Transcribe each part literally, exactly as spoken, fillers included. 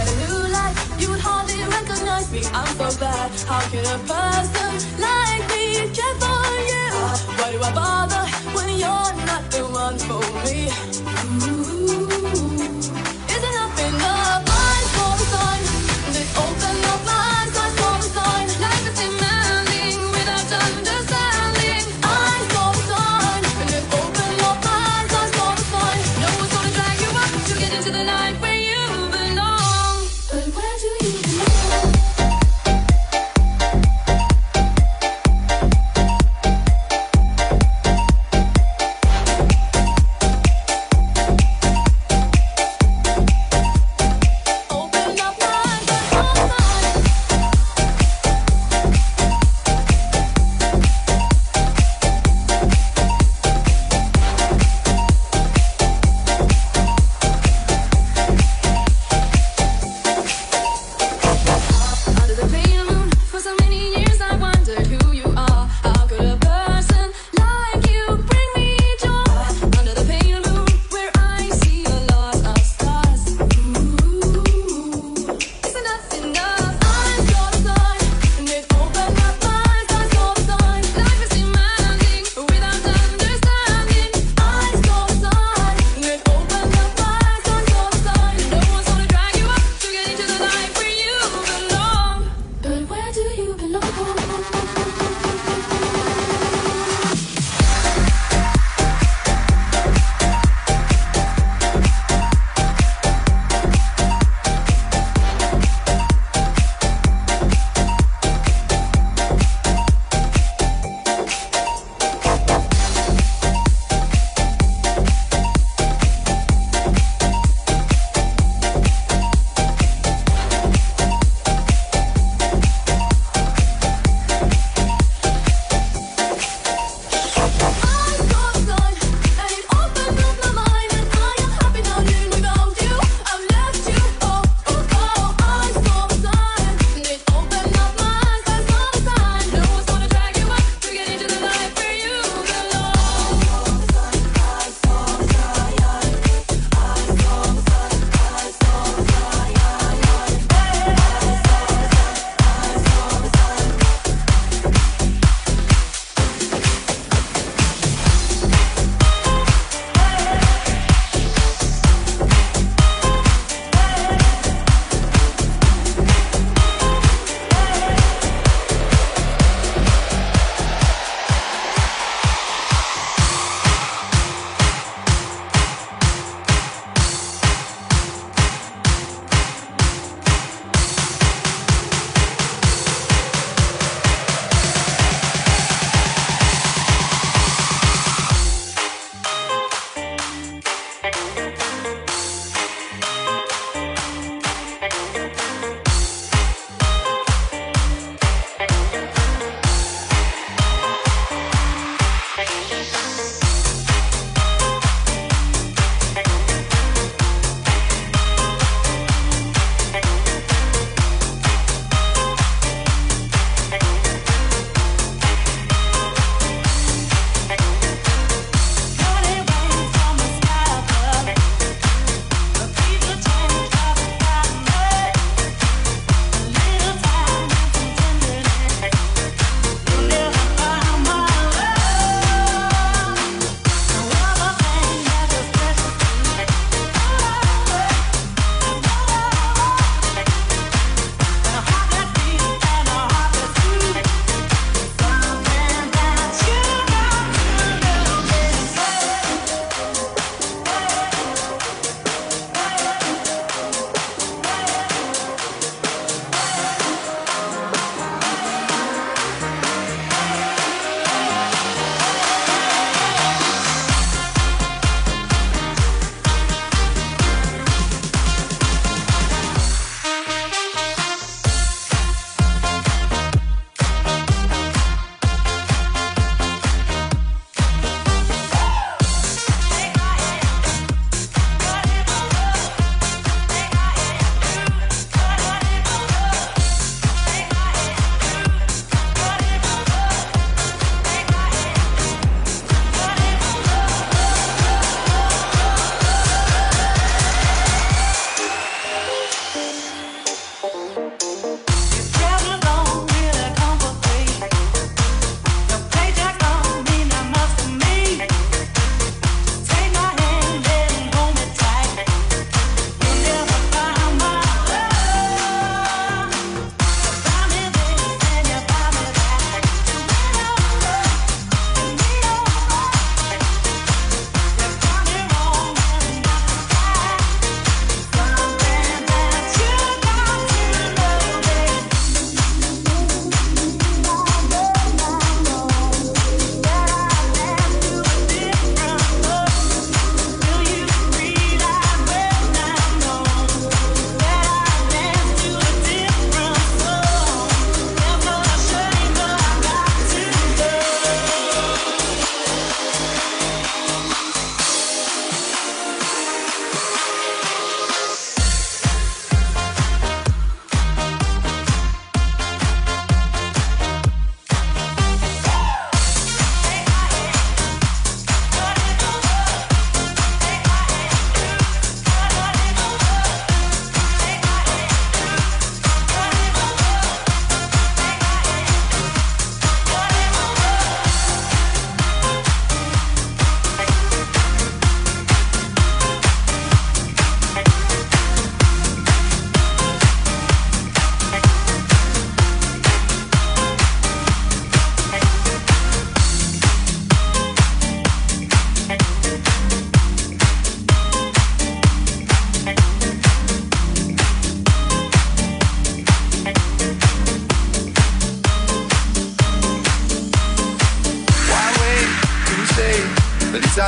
a new life, you would hardly recognize me. I'm so bad. How can a person like me care for you? Why do I bother when you're not the one for me? Ooh, is enough enough? Eyes for a sign. They open up my eyes, eyes for a sign. Life is demanding without understanding. Eyes for a sign. And they open up my eyes, eyes for a sign. No one's gonna drag you up to get into the life where you belong. But where do you belong?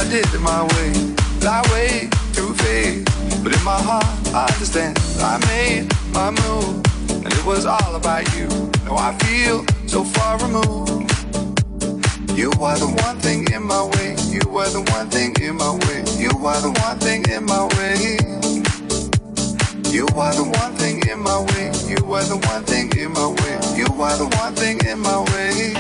I did it my way, that way through faith. But in my heart, I understand. I made my move, and it was all about you. No, I feel so far removed. You are the one thing in my way. You are the one thing in my way. You are the one thing in my way. You are the one thing in my way. You are the one thing in my way. You are the one thing in my way.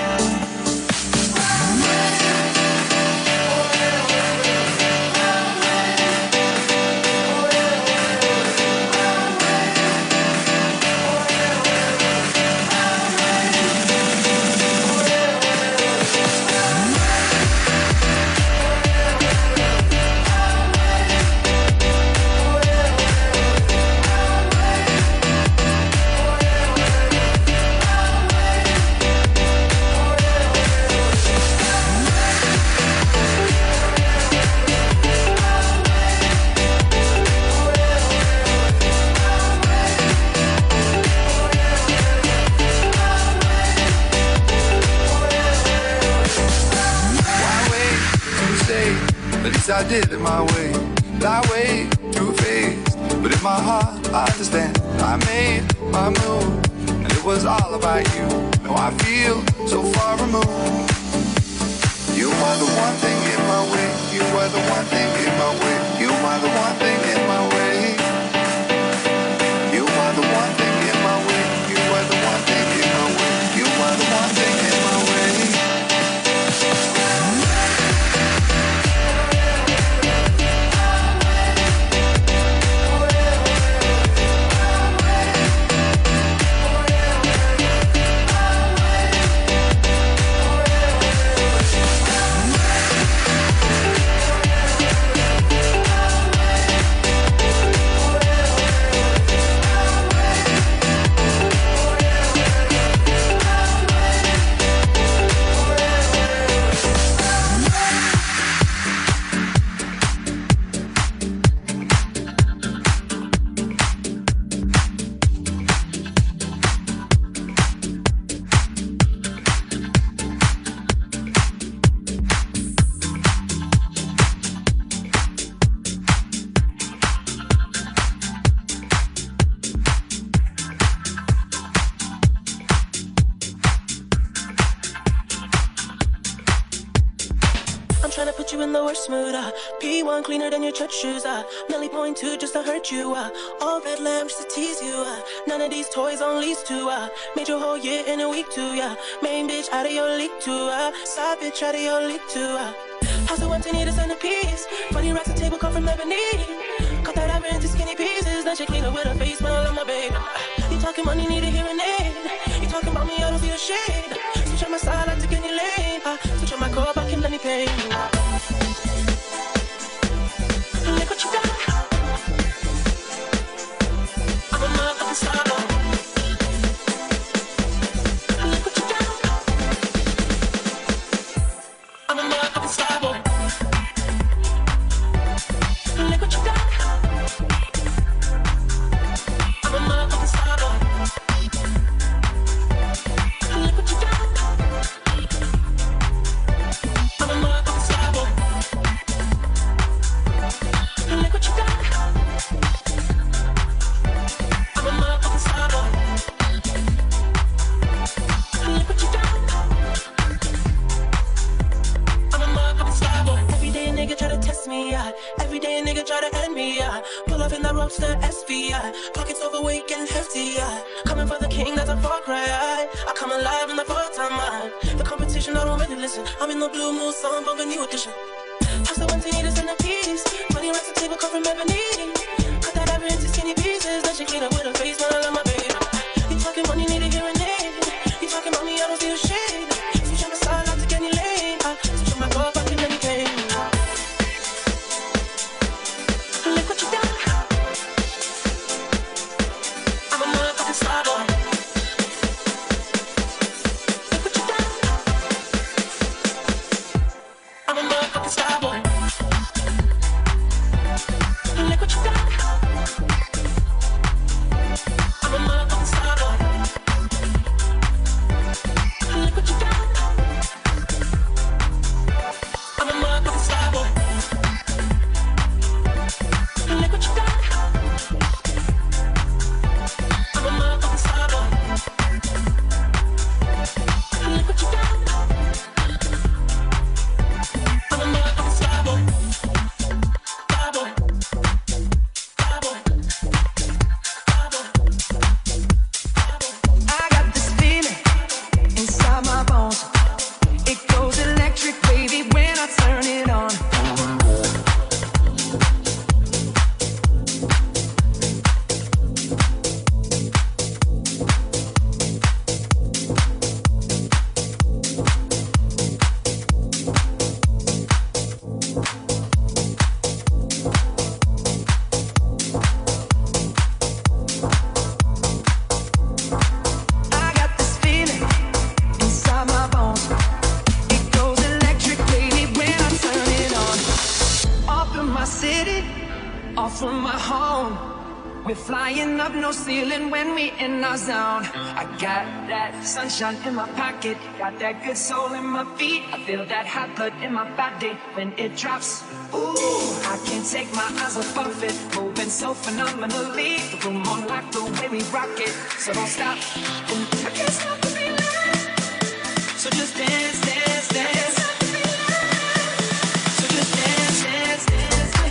I did it my way, that way through faith. But in my heart, I understand. I made my move, and it was all about you. No, I feel so far removed. You are the one thing in my way. You are the one thing in my way. You are the one thing in my way. You are the one thing in my way. You are the one thing in my way. You are the one thing in my way. Cleaner than your church shoes, uh Nelly point two just to hurt you, uh all red lamps to tease you, uh none of these toys on lease to, uh made your whole year in a week too, yeah main bitch out of your league too, uh side bitch out of your league too, uh house of one to need a centerpiece, funny racks and table come from ebony, cut that iron into skinny pieces, then she clean up with her face, smell of my baby. You talking money, need a hearing aid, you talking about me, I don't see a shade, switch on my side, I take any lane, uh switch on my core, back in any pain. Look what you got. I'm a motherfucking star. Look what you got. I'm a motherfucking star boy. Look what you got. I'm a motherfucking star boy. Look what you got. I'm a motherfucking star boy. Look what you got. I'm a motherfucking star boy. Look what you got. I'm a motherfucking star boy. Every day a nigga try to test me, yeah. Every day a nigga try to end me, yeah. Pull up in that roadster S V, yeah. Pockets overweight, getting hefty, yeah. Coming for the king, that's a far cry, I, I come alive in the fourth time, man. The competition, I don't really listen. I'm in the blue moon, song, bump a new edition. House the one to need a centerpiece, funny racks and table come from ebony, cut that iron into skinny pieces, then she clean up with her face, man, I love my baby. You talking money, need a hearing aid, you talking about me, I don't see a shade, switch on my side, I take any lane, I switch on my car, back in any pain. Look what you got. I'm a motherfucking star boy. Look what you got. I'm a motherfucking star boy. Look what you got. We're flying up, no ceiling when we in our zone. I got that sunshine in my pocket, got that good soul in my feet. I feel that hot blood in my body when it drops. Ooh, I can't take my eyes off of it, moving so phenomenally. The room on lock, the way we rock it, so don't stop. And I can't stop the feeling. So just dance, dance, dance. So just dance, dance, dance.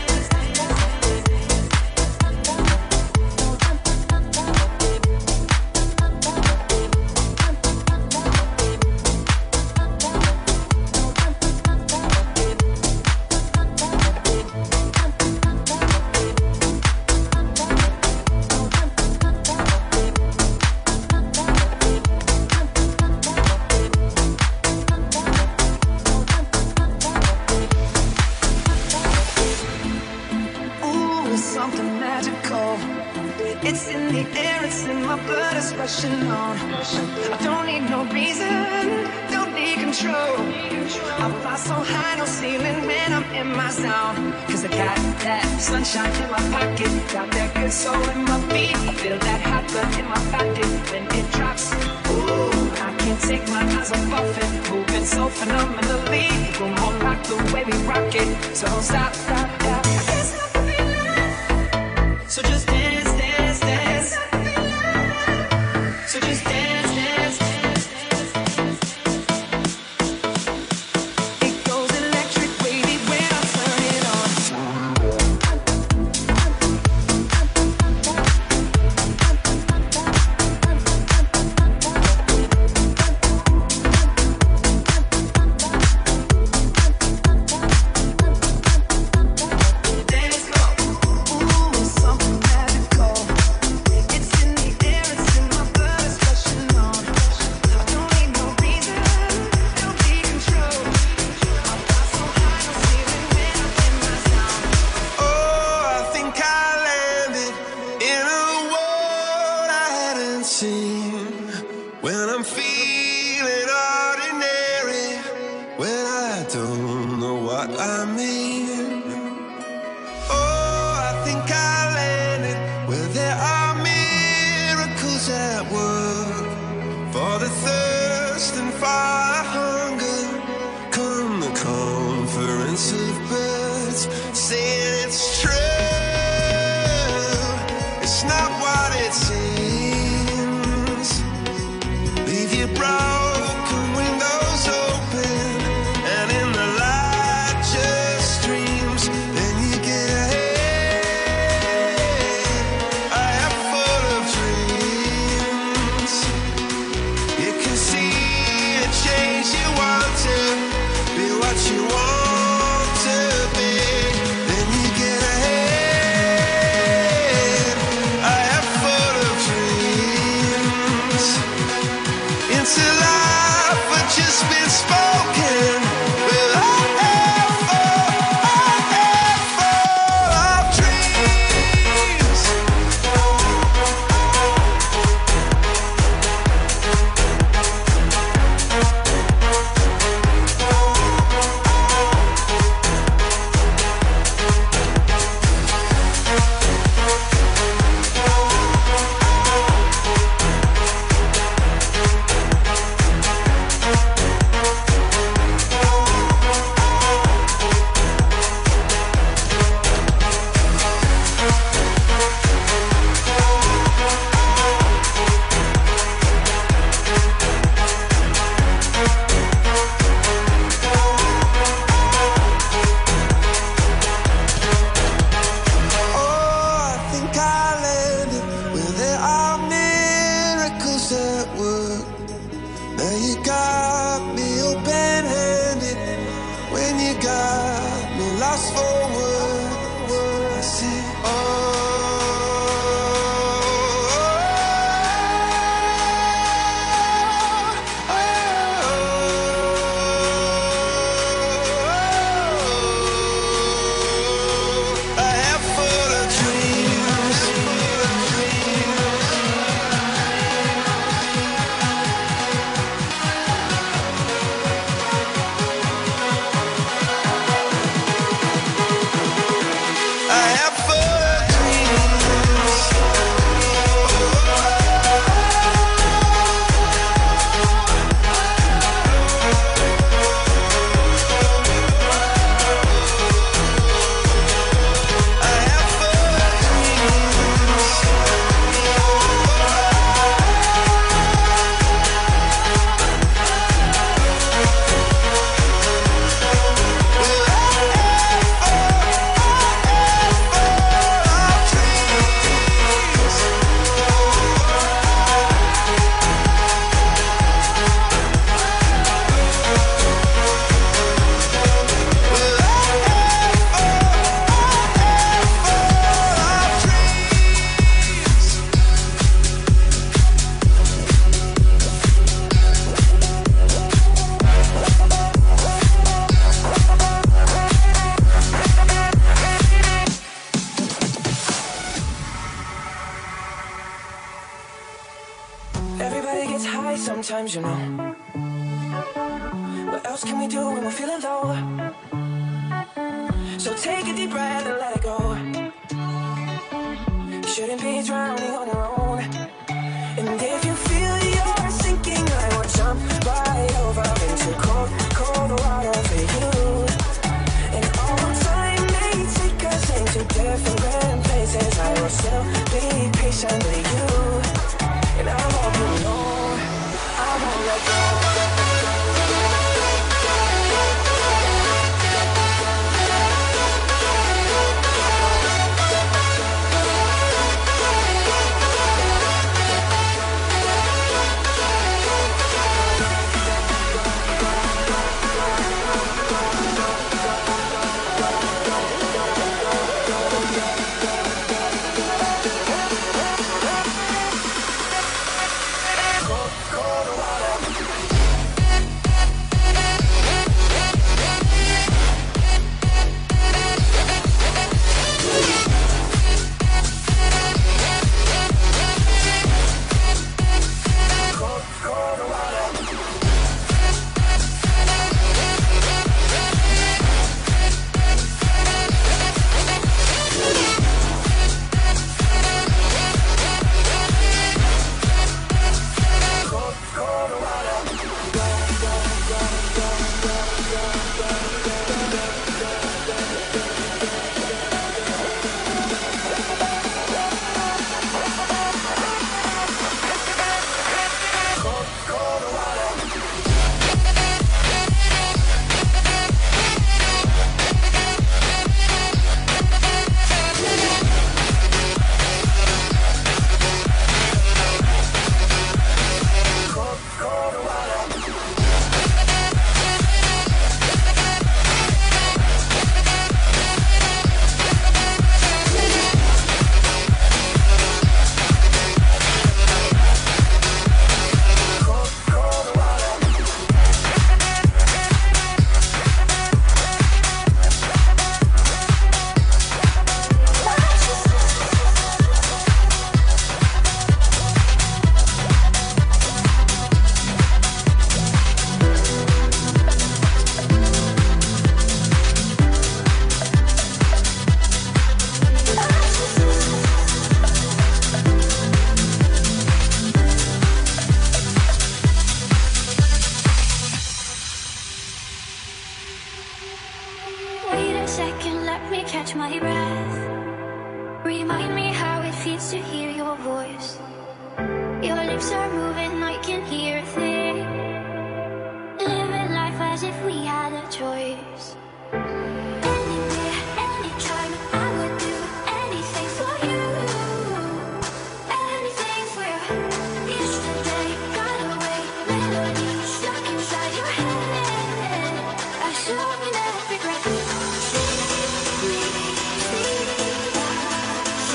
It's in the air, it's in my blood, it's rushing on. I don't need no reason, don't need control. I fly so high, no ceiling when I'm in my zone. Cause I got that sunshine in my pocket, got that good soul in my feet. I feel that hot blood in my body when it drops. Ooh, I can't take my eyes off of it, moving so phenomenally. We're more rock the way we rock it, so don't stop, stop, stop. I can't stop the feeling. So just dance, dance, dance. So just dance, dance, dance, dance. It goes electric wavy when I turn it on. Dance, go. Ooh, it's something magic. high sometimes, you know. What else can we do when we're feeling low? So take a deep breath and let it go. You shouldn't be drowning on your own. And if you feel you're sinking, I will jump right over into cold, cold water for you. And all time may take us into different places, I will still be patient with you. And I hope you know I won't let go.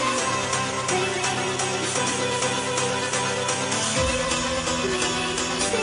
Stay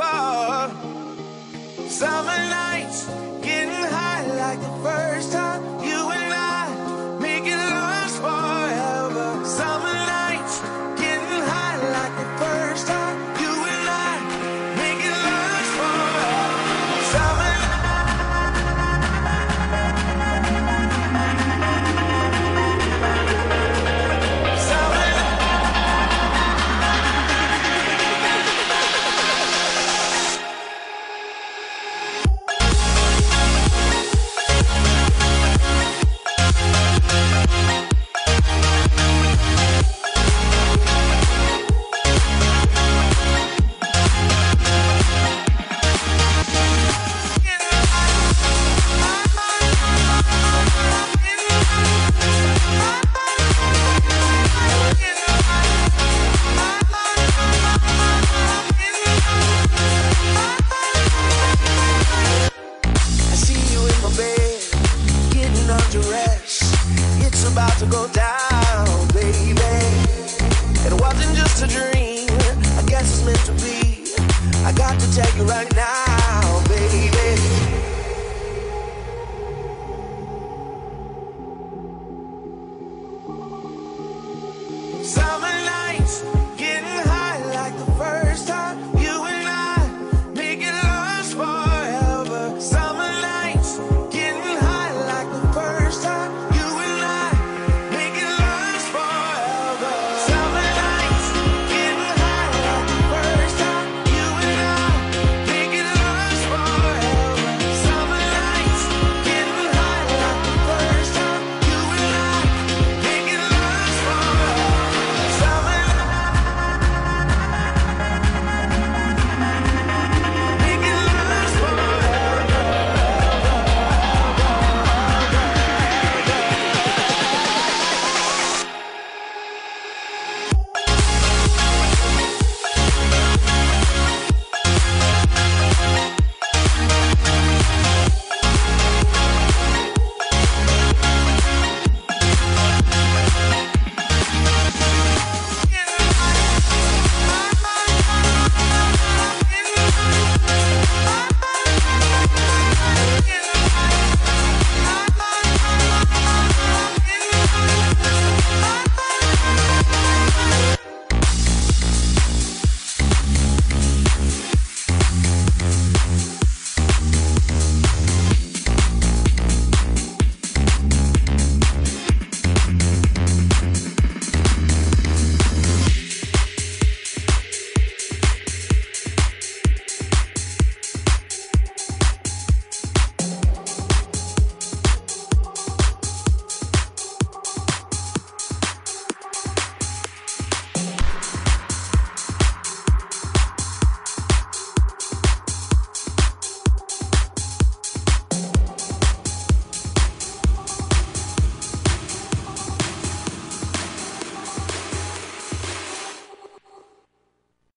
heart. Summer nights, getting high like the first time. You and I, making love forever. Summer nights, getting high like the first time. You and I, making love forever. Summer about to go down, baby. It wasn't just a dream, I guess it's meant to be. I got to tell you right now.